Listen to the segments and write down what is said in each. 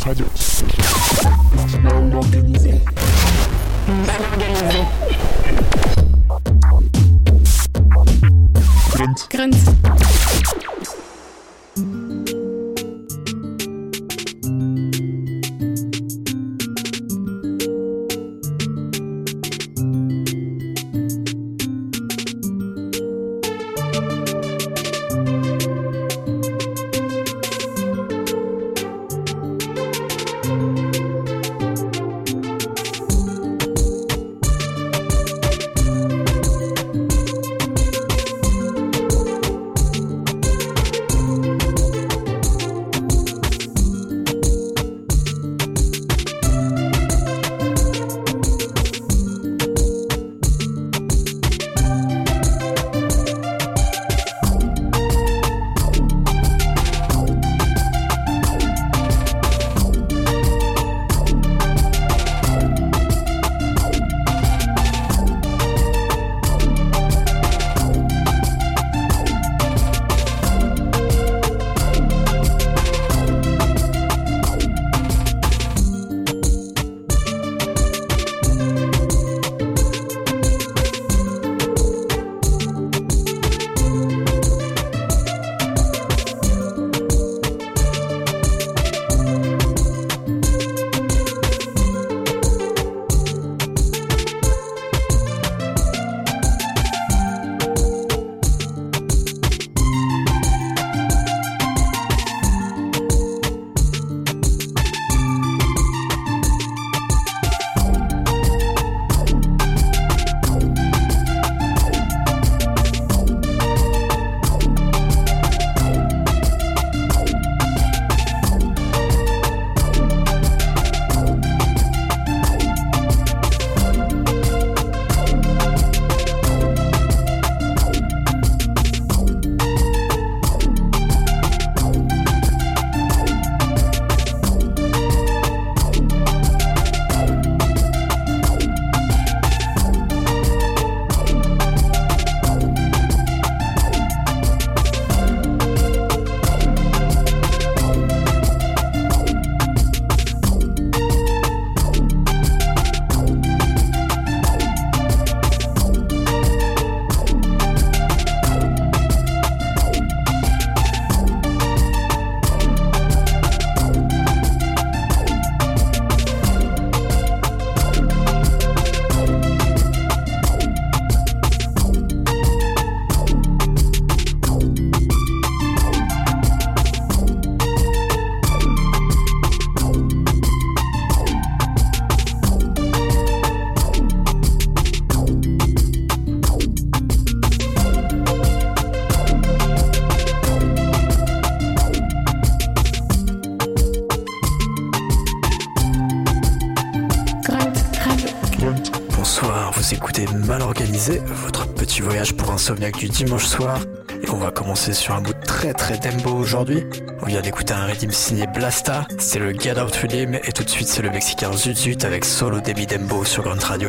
Radio. Mal organisé. Grunt. Vous écoutez Mal Organisé, votre petit voyage pour insomniaque du dimanche soir. Et on va commencer sur un bout très dembo aujourd'hui. On vient d'écouter un rythme signé Blasta, c'est le Get Out Rhythm, et tout de suite c'est le Mexicain Zut Zut avec Solo Demi Dembo sur Grunt Radio.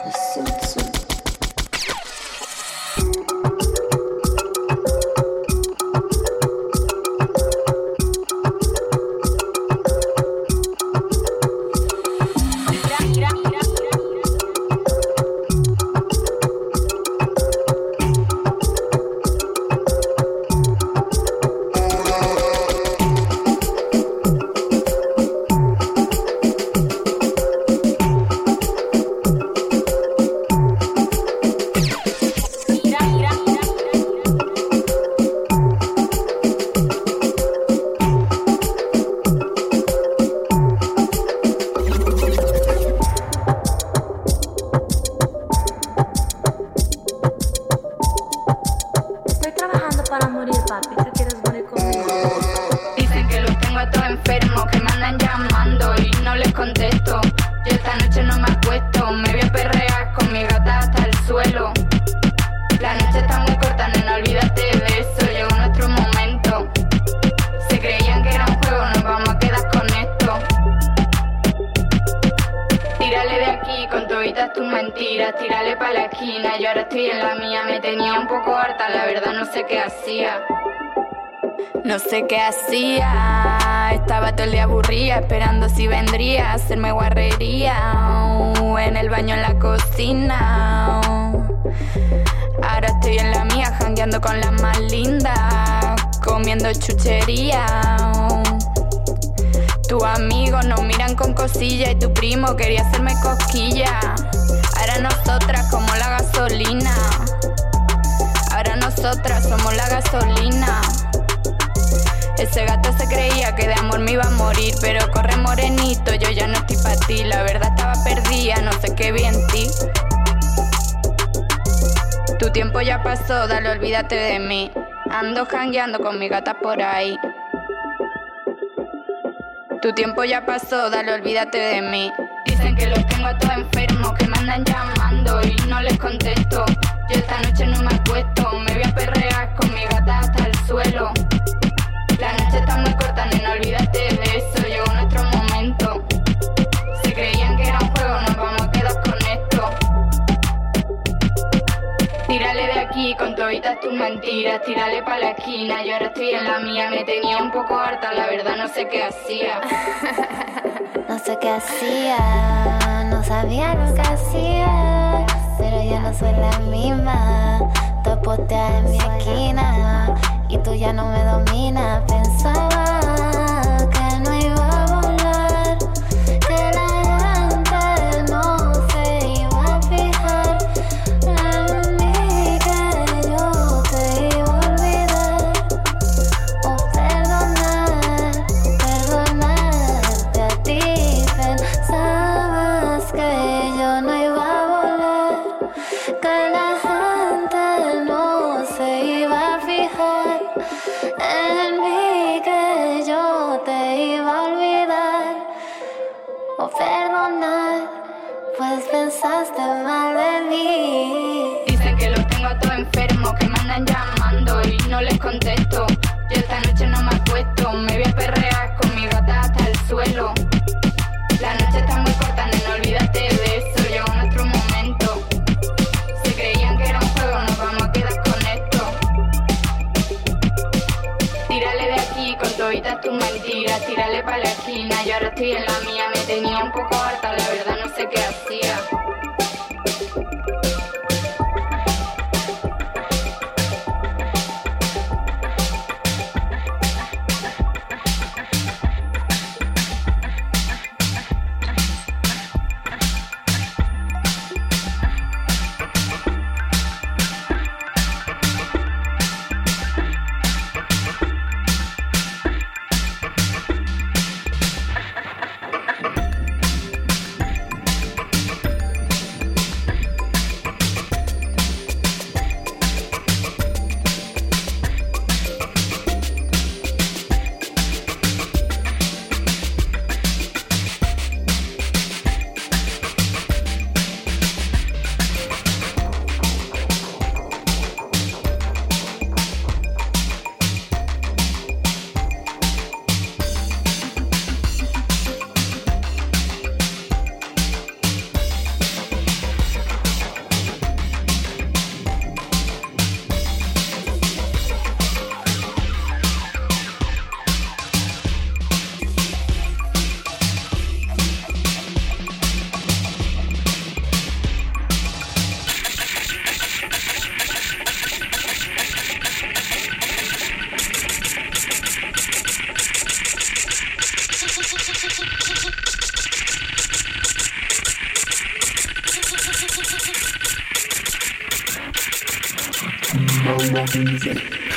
No sé qué hacía, estaba todo el día aburrida, esperando si vendría a hacerme guarrería, en el baño, en la cocina. Ahora estoy en la mía, jangueando con las más lindas, comiendo chuchería. Tus amigos nos miran con cosilla y tu primo quería hacerme cosquilla. Ahora nosotras como la gasolina, ahora nosotras somos la gasolina. Ese gato se creía que de amor me iba a morir, pero corre morenito, yo ya no estoy pa' ti. La verdad estaba perdida, no sé qué vi en ti. Tu tiempo ya pasó, dale, olvídate de mí. Ando jangueando con mi gata por ahí. Tu tiempo ya pasó, dale, olvídate de mí. Dicen que los tengo a todos enfermos, que me andan llamando y no les contesto. Yo esta noche no me acuesto, me voy a perrear con mi gata hasta el suelo. La noche está muy corta, nena, olvídate de eso, llegó nuestro momento. Se creían que era un juego, nos vamos a quedar con esto. Tírale de aquí con toditas tus mentiras, tírale pa' la esquina, yo ahora estoy en la mía. Me tenía un poco harta, la verdad no sé qué hacía. No sé qué hacía, no sabía lo que hacía, pero ya no soy la misma. Te posteas en mi esquina y tú ya no me dominas. Pensaba que no iba a volar, que la gente no se iba a fijar en mí, que yo te iba a olvidar o perdonar, perdonarte a ti. Pensabas que yo no iba a volar, que la gente no se iba a fijar en mí, que yo te iba a olvidar o perdonar, pues pensaste mal de mí. Dicen que los tengo a todos enfermos, que me andan llamando y no les contesto. Yo esta noche no me acuesto, me voy a perrear con mi gata hasta el suelo. La noche está muy corta, nena, olvídate de eso, llegó nuestro momento. Se creían que era un juego, nos vamos a quedar con esto. Tírale de aquí con toditas tus mentiras, tírale pa' la esquina, yo ahora estoy en la mía. Me tenía un poco harta, la verdad no sé qué hacía. Mama organisée.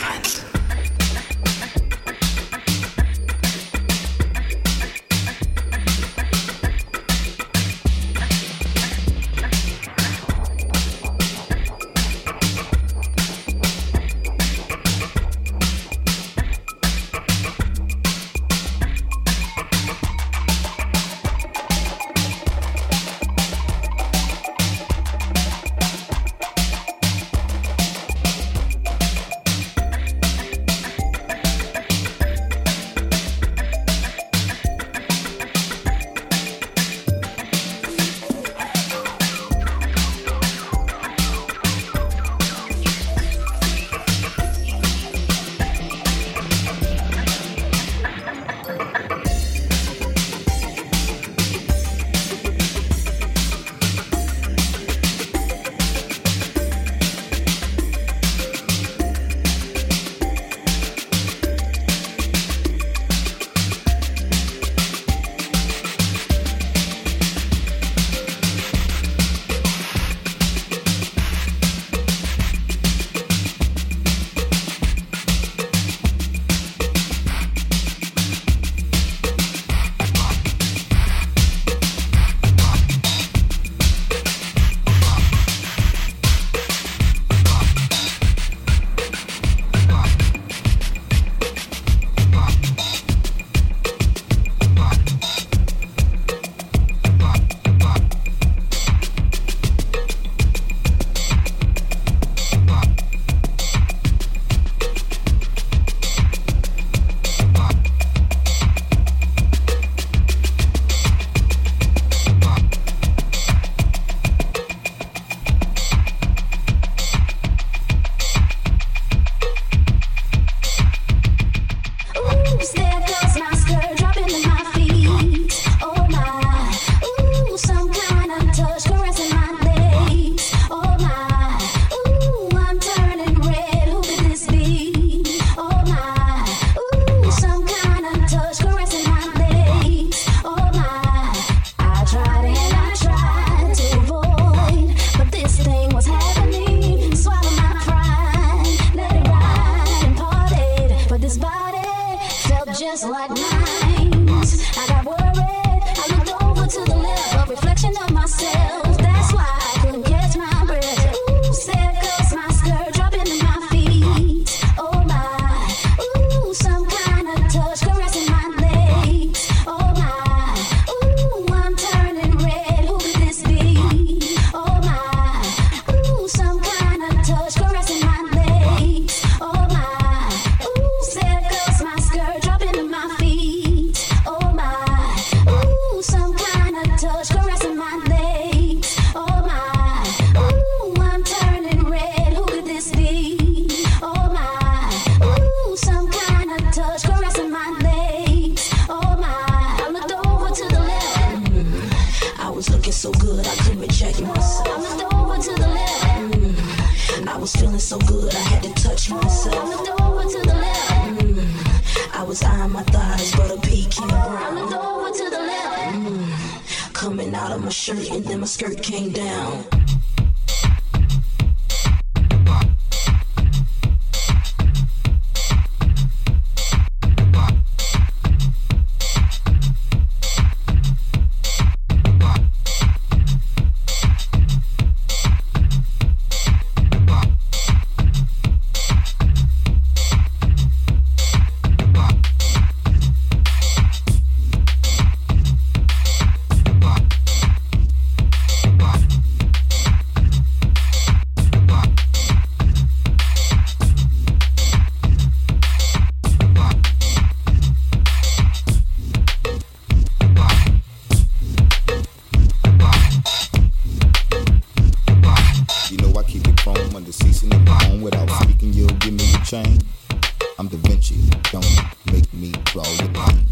I'm Da Vinci, don't make me draw your pain.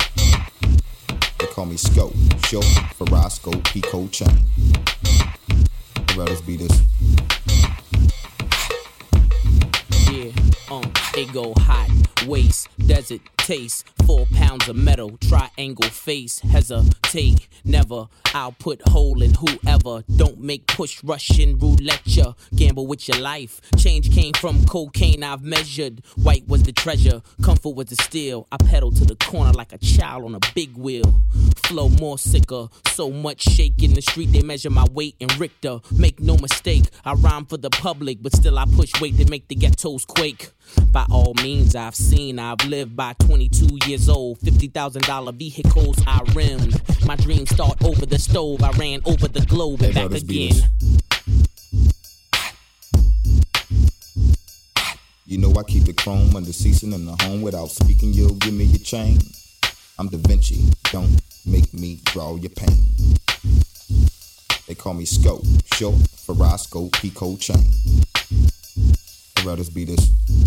They call me Scope, short for Roscoe, Pico chain. I'd rather be this. Yeah, It go hot, waist, desert taste, 4 pounds of metal, triangle face, hesitate, never, I'll put hole in whoever, don't make push Russian roulette ya, gamble with your life, change came from cocaine I've measured, white was the treasure, comfort was the steal, I pedal to the corner like a child on a big wheel, flow more sicker, so much shake in the street they measure my weight in Richter, make no mistake, I rhyme for the public, but still I push weight to make the ghettos quake. By all means, I've seen, I've lived by 22 years old. $50,000 vehicles I rimmed. My dreams start over the stove. I ran over the globe and back again. You know I keep it chrome under season in the home. Without speaking, you'll give me your chain. I'm Da Vinci, don't make me draw your pain. They call me Scope, short for Roscoe, Pico chain. I'd rather be this.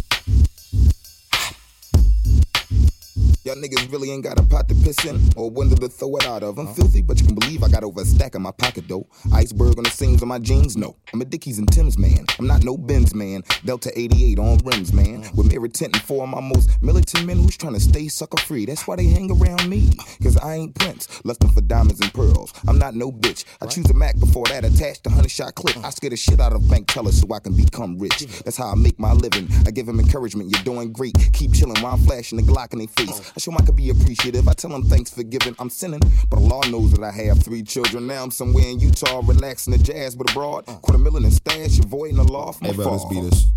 Y'all niggas really ain't got a pot to piss in or a window to throw it out of. I'm filthy, but you can believe I got over a stack in my pocket, though. Iceberg on the seams of my jeans, no. I'm a Dickies and Tim's man. I'm not no Benz man. Delta 88 on rims, man. With mirror tint and 4 of my most militant men who's trying to stay sucker free. That's why they hang around me. Cause I ain't Prince, lusting for diamonds and pearls. I'm not no bitch. I choose a Mac before that attached to 100-shot clip. I scare the shit out of bank tellers so I can become rich. That's how I make my living. I give them encouragement. You're doing great. Keep chilling while I'm flashing the Glock in their face. I show them I can be appreciative. I tell them thanks for giving. I'm sinning, but Allah knows that I have 3 children. Now I'm somewhere in Utah, relaxing the jazz, but abroad. $250,000 in stash, avoiding the law from afar. Hey, let's beat this.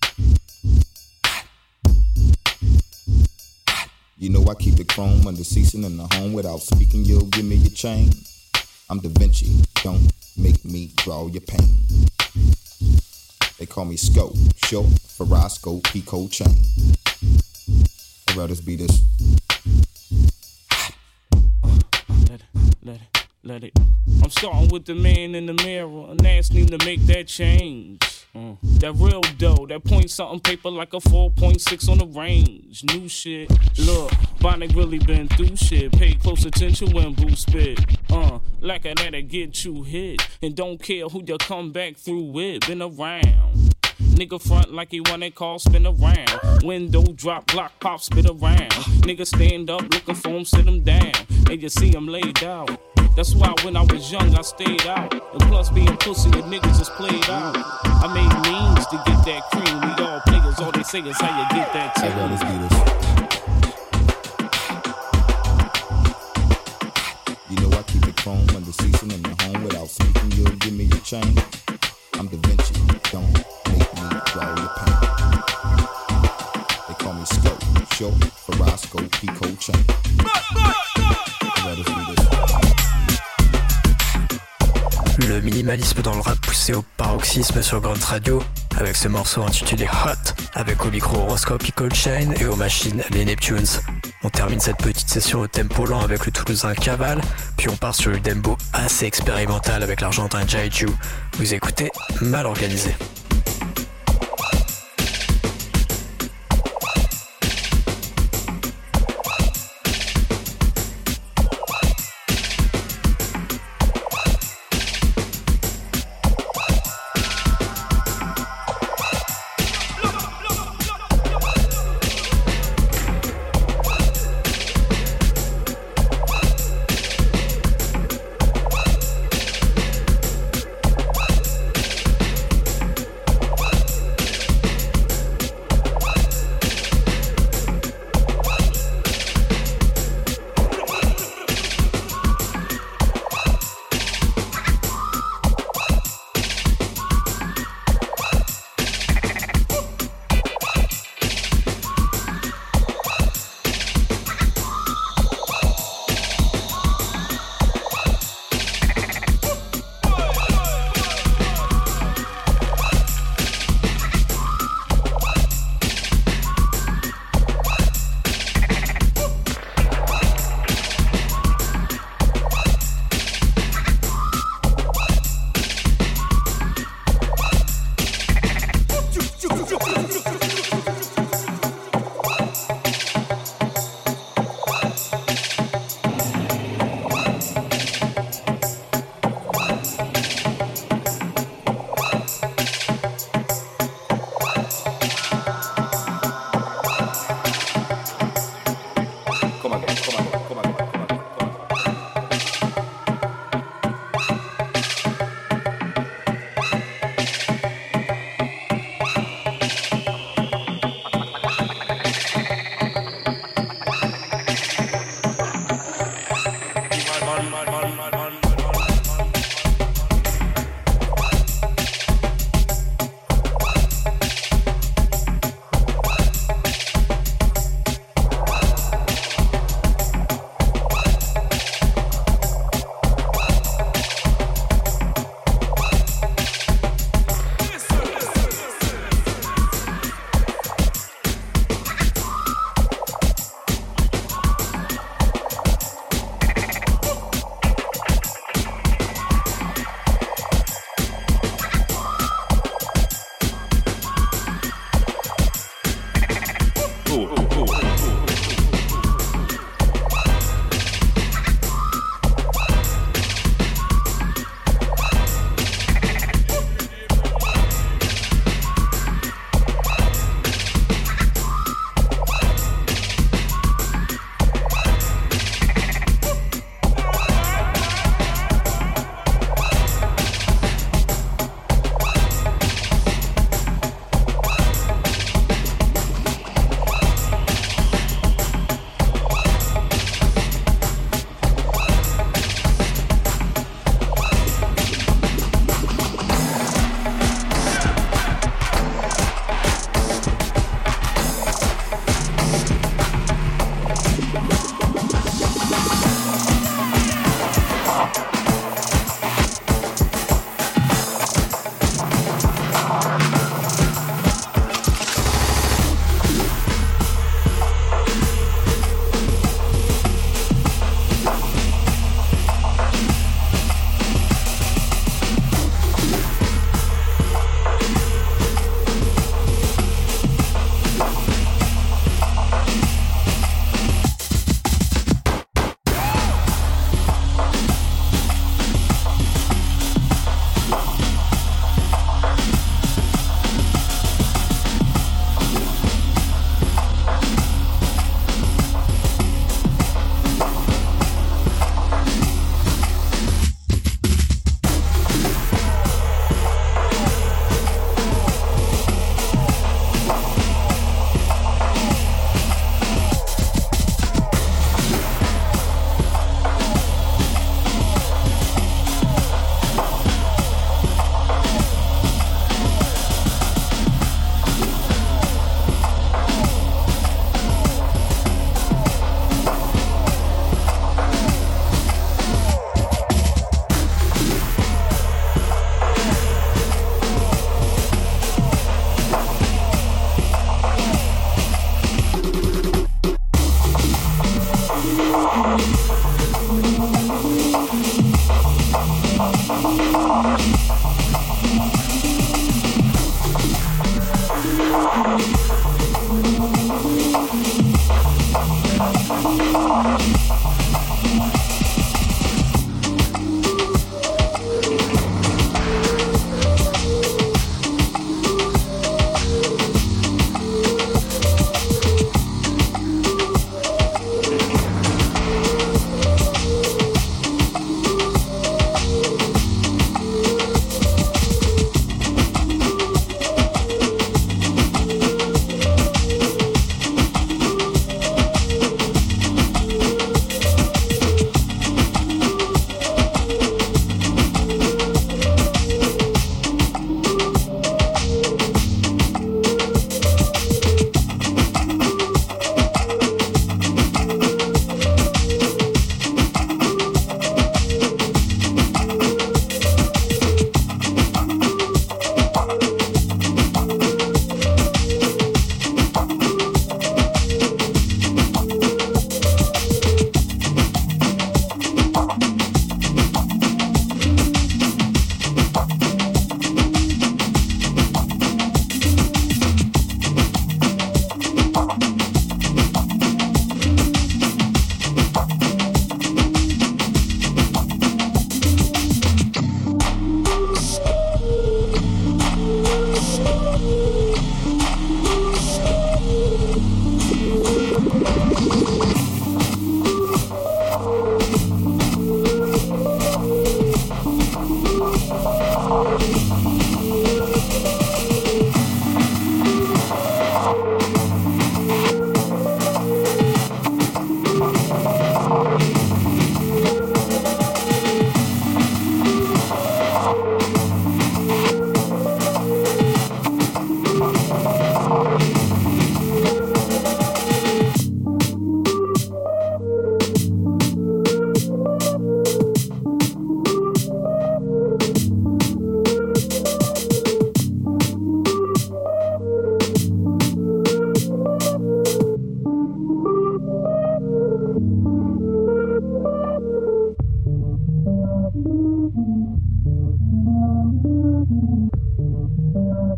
You know I keep it chrome under season in the home. Without speaking, you'll give me your chain. I'm Da Vinci, don't make me draw your pain. They call me Scope, short for Roscoe, Pico chain. I'd rather be this. Let it. I'm starting with the man in the mirror and asking him to make that change. That real dough, that point something paper like a 4.6 on the range. New shit. Look, Bonnie really been through shit. Pay close attention when Boo spit. Like that'll get you hit. And don't care who you come back through with. Been around. Nigga front like he want that car spin around. Window drop, block pop, spit around. Nigga stand up looking for him, sit him down. And you see him laid out. That's why when I was young I stayed out. And plus being pussy, the niggas just played out. I made means to get that cream. We all players, all they say is how you get that team. Hey, let's do this. You know I keep it chrome under season in the home. Without speaking, you'll give me your chain. I'm Da Vinci, don't make me draw your pain. They call me Scope, short for Roscoe, Pico chain. Let us do this. Le minimalisme dans le rap poussé au paroxysme sur Grunt Radio, avec ce morceau intitulé Hot, avec au micro Roscoe Pico Chain et aux machines les Neptunes. On termine cette petite session au tempo lent avec le Toulousain Caval, puis on part sur le dembo assez expérimental avec l'Argentin Jaiju. Vous écoutez Mal Organisé.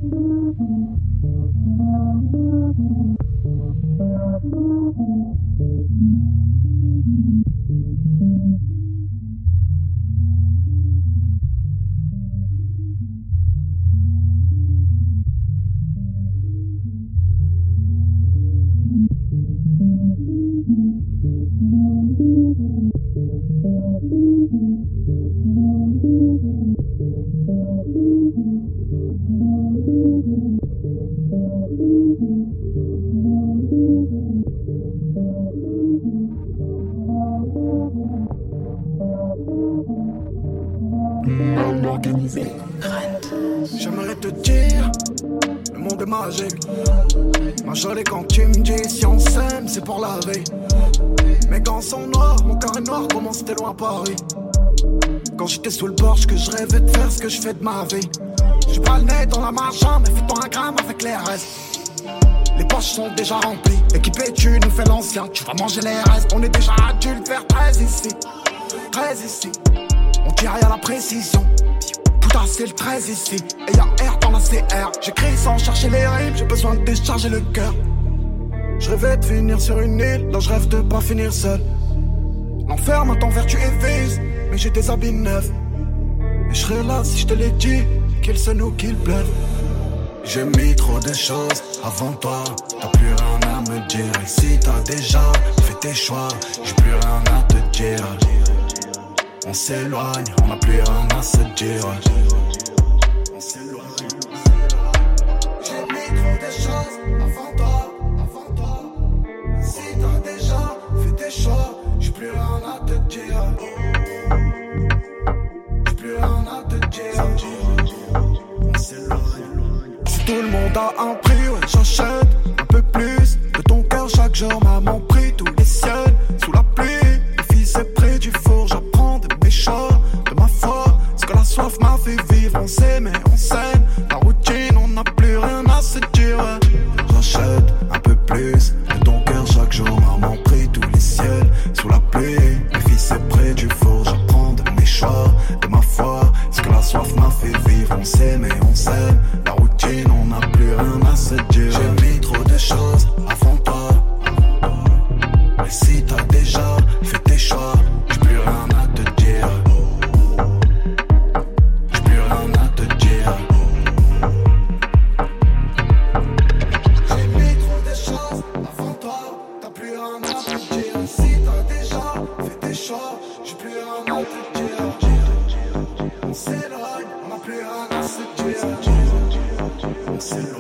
J'aimerais te dire, le monde est magique. Ma jolie quand tu me dis si on s'aime c'est pour la vie. Mes gants sont noirs, mon cœur est noir, comment c'était loin à Paris. Quand j'étais sous le porche que je rêvais de faire ce que je fais de ma vie. J'ai pas le nez dans la marchande mais fais-toi un gramme avec les restes. Les poches sont déjà remplies, équipé tu nous fais l'ancien. Tu vas manger les restes, on est déjà adultes vers 13 ici. 13 ici, on tire à la précision. Putain c'est le 13 ici, et y'a R dans la CR. J'écris sans chercher les rimes, j'ai besoin de décharger le cœur. Je rêvais de finir sur une île, là je rêve de pas finir seul. L'enfer m'attend vertu et vice, mais j'ai des habits neufs. Et je serais là si je te l'ai dit, qu'il se noue, qu'il pleuve. J'ai mis trop de choses avant toi, t'as plus rien à me dire. Et si t'as déjà fait tes choix, j'ai plus rien à te dire. On s'éloigne, on n'a plus rien à se dire. On s'éloigne. J'ai mis trop de choses avant toi. Si t'as déjà fait tes choix, j'ai plus rien à te dire. J'ai plus rien à te dire. On s'éloigne. Si tout le monde a un prix, ouais, j'achète un peu plus de ton cœur chaque jour. Maman prie tous les ciels sous la pluie. Le fils est près du four, j'apprends de mes choix, de ma foi. Ce que la soif m'a fait vivre, on s'aime et on s'aime. La routine, on n'a plus rien à se dire. J'achète un peu plus de ton cœur chaque jour. Maman prie tous les ciels sous la pluie. Le fils est près du four, j'apprends de mes choix, de ma foi. Ce que la soif m'a fait vivre, on s'aime et on s'aime. La routine, on n'a plus rien à se dire. J'ai mis trop de choses avant toi. Mais si t'as déjà fait tes choix, j'ai plus rien à te dire. J'ai plus rien à te dire. J'ai mis trop de choses avant toi, t'as plus rien à te dire. Si t'as déjà fait tes choix, j'ai plus rien à te dire. On s'éloigne, on n'a plus rien à se dire. On s'éloigne.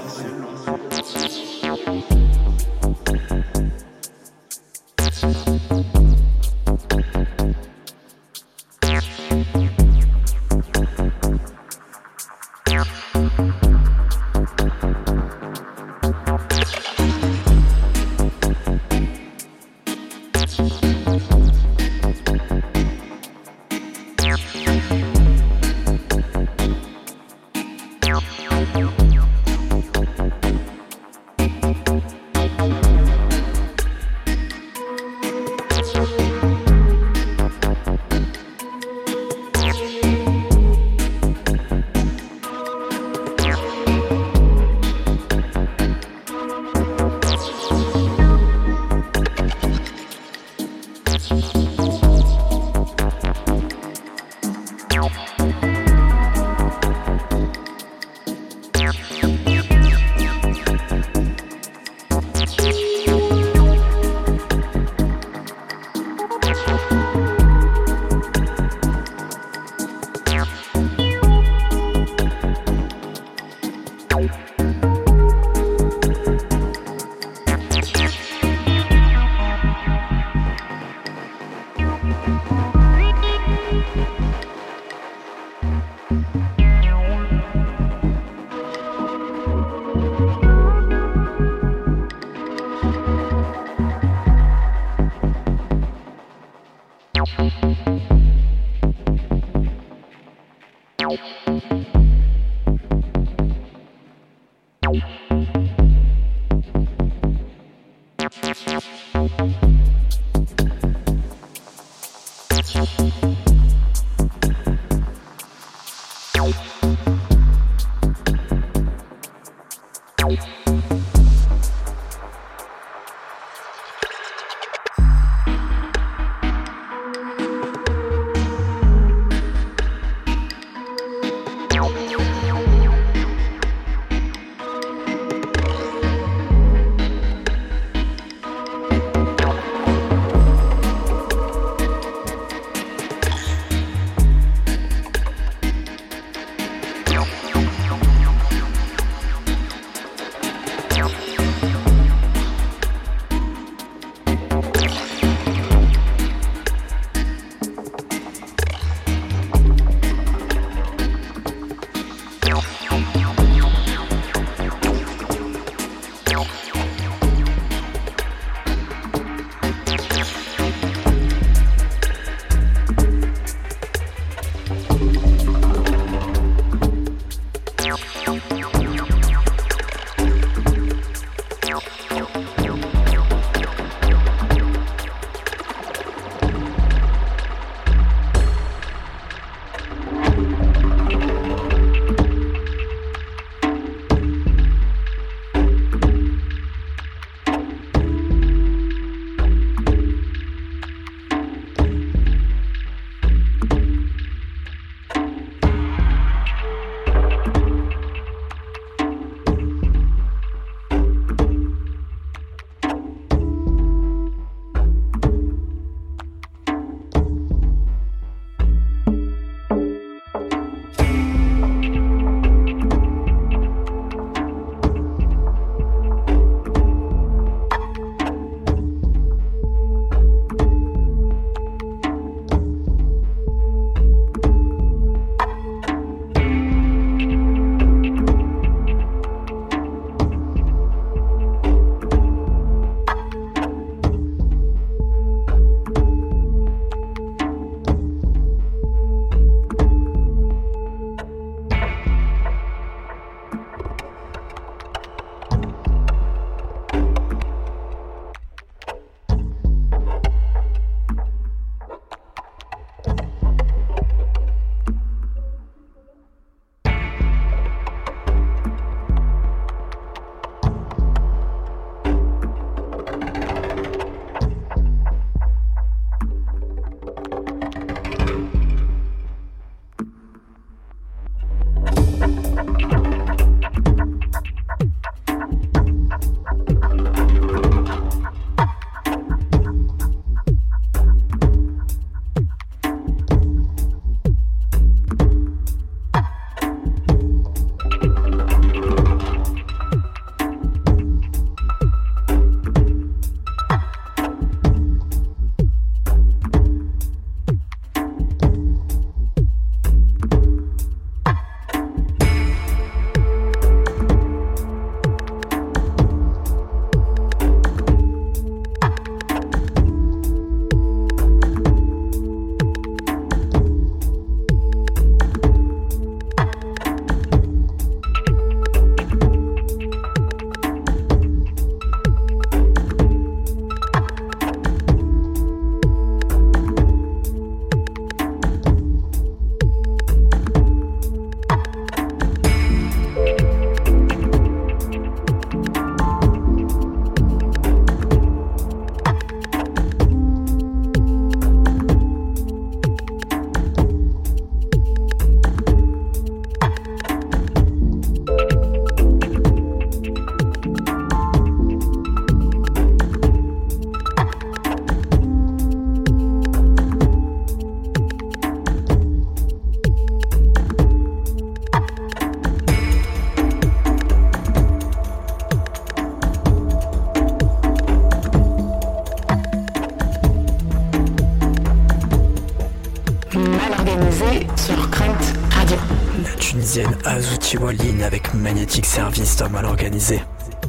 Azuti Wallin avec Magnetic Service, Tom mal organisé.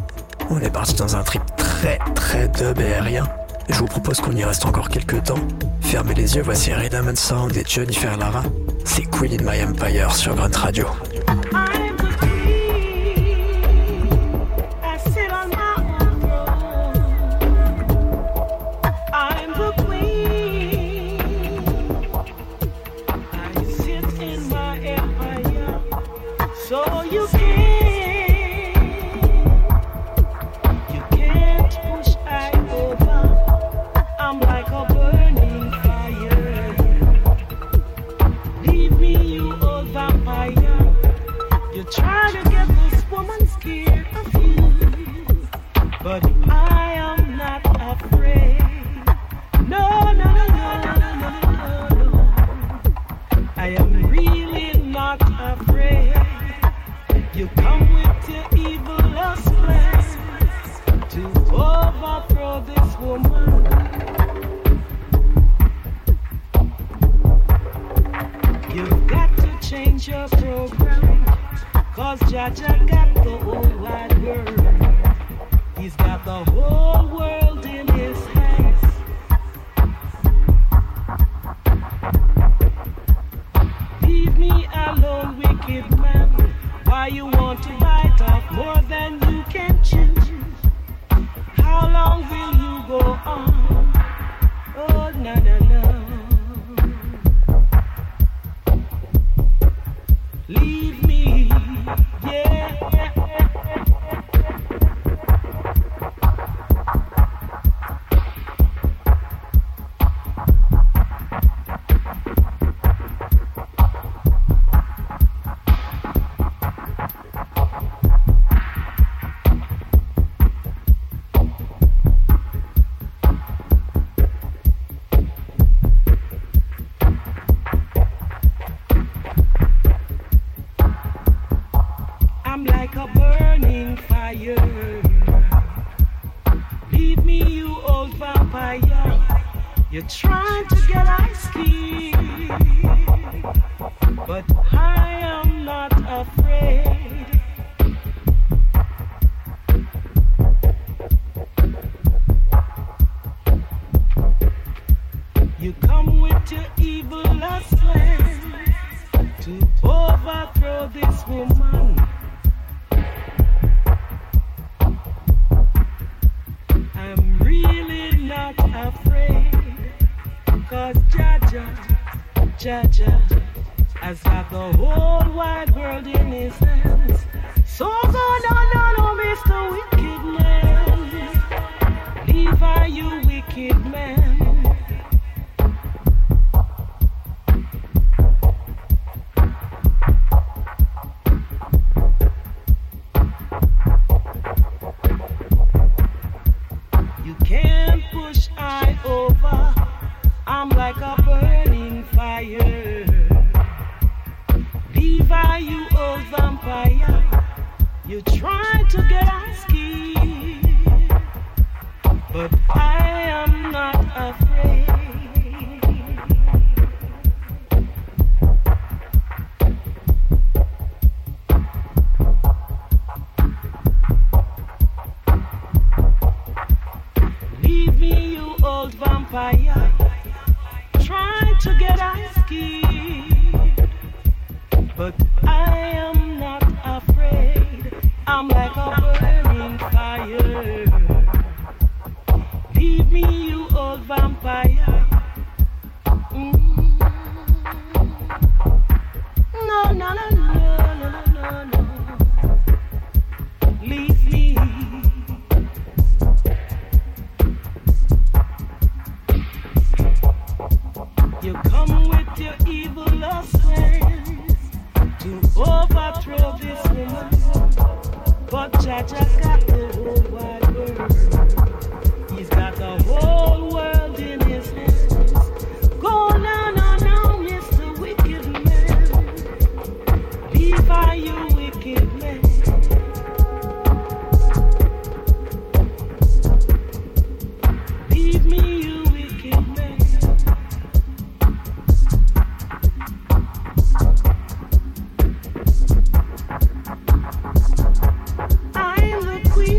On est parti dans un trip très dub et aérien. Je vous propose qu'on y reste encore quelques temps. Fermez les yeux, voici Rhythm and Sound et Jennifer Lara. C'est Queen in My Empire sur Grunt Radio. So you can You come with your evilest plans to overthrow this woman. You've got to change your program, 'cause Jaja got the whole wide world. He's got the whole world in his hands. Leave me alone, wicked man. Why you want to bite off more than you can chew? How long will you go on? Oh, no, no, no. Leave me, yeah. I'm like a burning fire. Leave me, you old vampire. You're trying to get ice cream, but I am not afraid. You come with your evilest plans to overthrow this woman. I'm really not afraid, 'cause Jaja has got the whole wide world in his hands. So go no, Mr. Wicked Man. Levi, you wicked man. You can't push I over. I'm like a burning fire. Levi, you old vampire. You try to get us killed, but I am not afraid. Leave me, you old vampire. Try to get us killed, but I am not afraid. I'm like a burning fire. Leave me, you old vampire. No, no, no, no, no, no, no. Leave me. You come with your evilest plans to overthrow this woman, but Jaja got the whole wide world. He's got the whole world in his hands. Go now, Mr. Wicked Man. Levi, you wicked man. Leave me, you wicked man. I'm the queen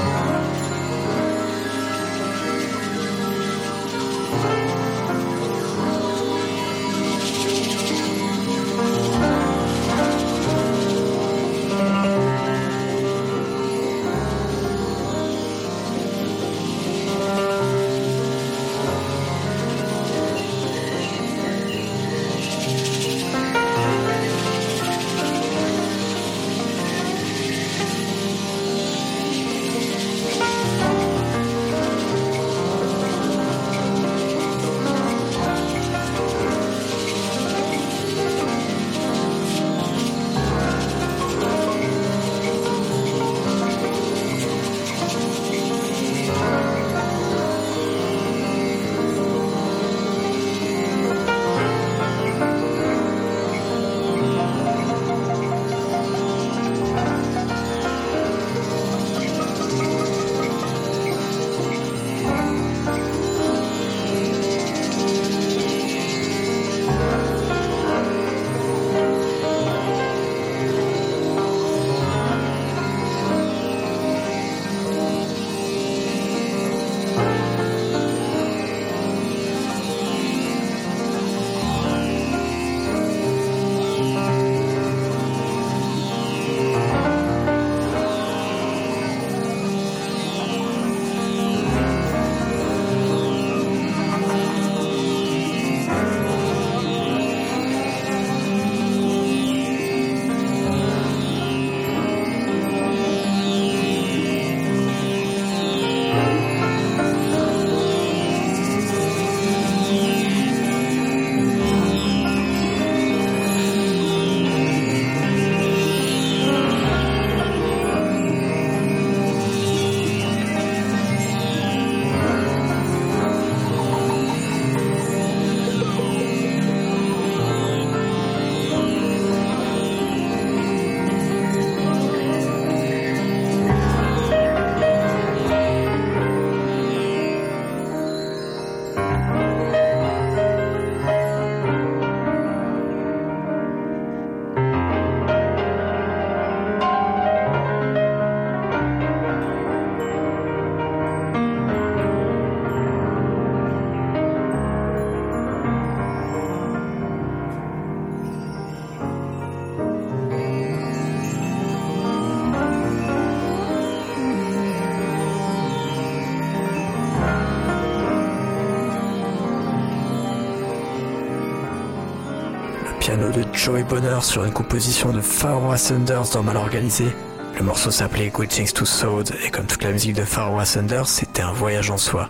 piano de Joey Bonheur sur une composition de Pharaoh Sanders dans Mal Organisé. Le morceau s'appelait Greetings to Sound et comme toute la musique de Pharaoh Sanders, c'était un voyage en soi.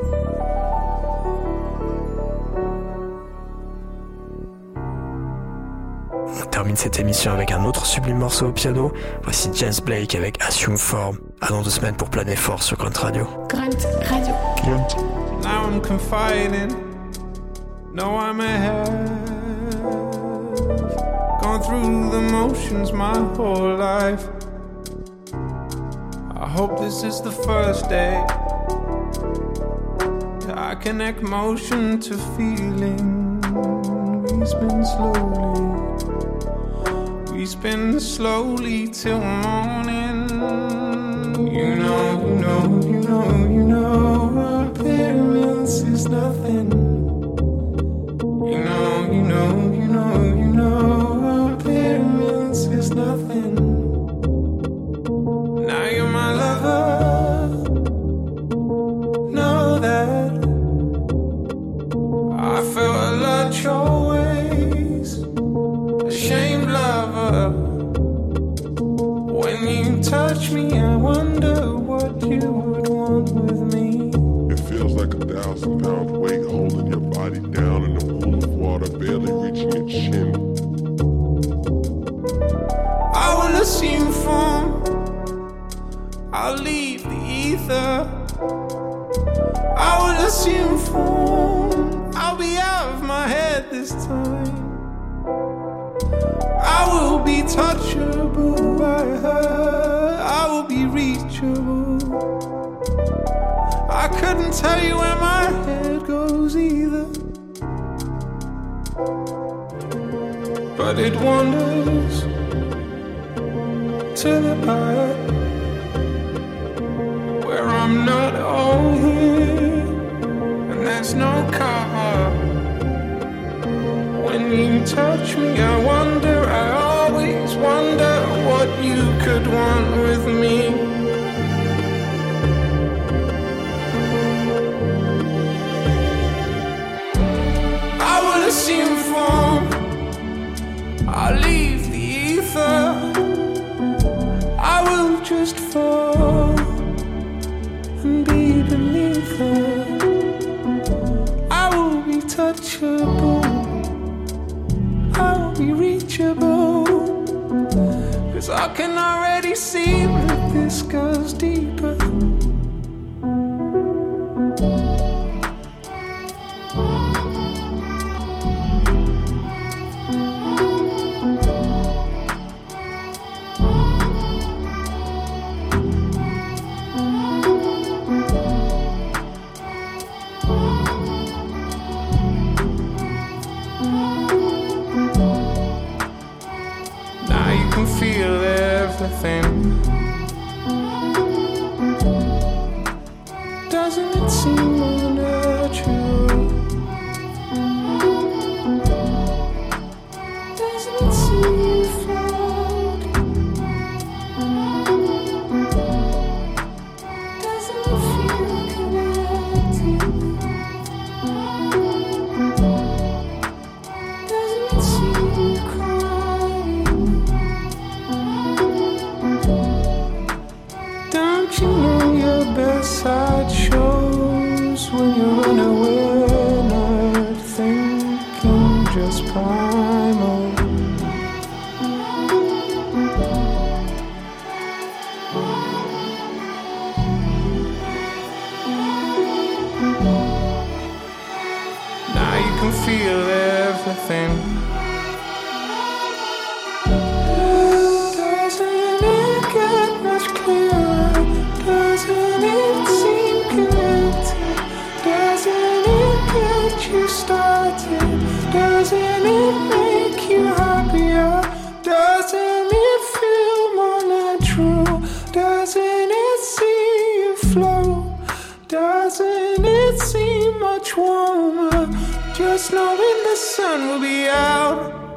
On termine cette émission avec un autre sublime morceau au piano. Voici James Blake avec Assume Form. À dans 2 semaines pour Planer Fort sur Grunt Radio. Grunt Radio. Grunt. Now I'm confiding. No, I may have gone through the motions my whole life. I hope this is the first day I connect motion to feeling. We spin slowly till morning. You know, appearance is nothing. You know, appearance is nothing. Now you're my lover, know that. I felt a lot your ways, ashamed lover. When you touch me, I wonder what you would want with me. It feels like 1,000-pound weight holding your body down in a pool of water, barely reaching your chin. I will assume form, I'll leave the ether. I will assume form, I'll be out of my head this time. I will be touchable by her, I will be reachable. I couldn't tell you where my head goes either, but it wanders to the eye. touch me. I wonder, I always wonder what you could want with me. I will assume form, I'll leave the ether, I will just fall and be beneath her. I will be touchable, I will be reachable, 'cause I can already see that this goes deeper. Feel everything. Doesn't it seem more natural? Doesn't it seem you floating? Doesn't it feel connected? Doesn't it seem you crying? Don't you know your best side shows when you're unaware, not thinking, just primal? Now you can feel everything. Doesn't it get much clearer? Doesn't it seem connected? Doesn't it get you started? Doesn't it make you happier? Doesn't it feel more natural? Doesn't it see you flow? Doesn't it seem much warmer? Just knowing the sun will be out.